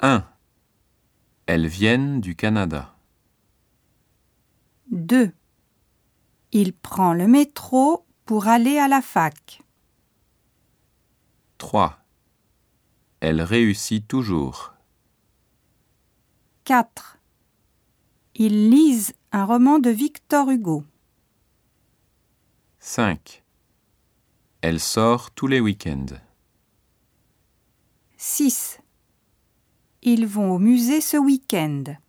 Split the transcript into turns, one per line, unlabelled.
1. Elles viennent du Canada.
2. Il prend le métro pour aller à la fac.
3. Elle réussit toujours.
4. Ils lisent un roman de Victor Hugo.
5. Elle sort tous les week-ends.
6. Ils vont au musée ce week-end.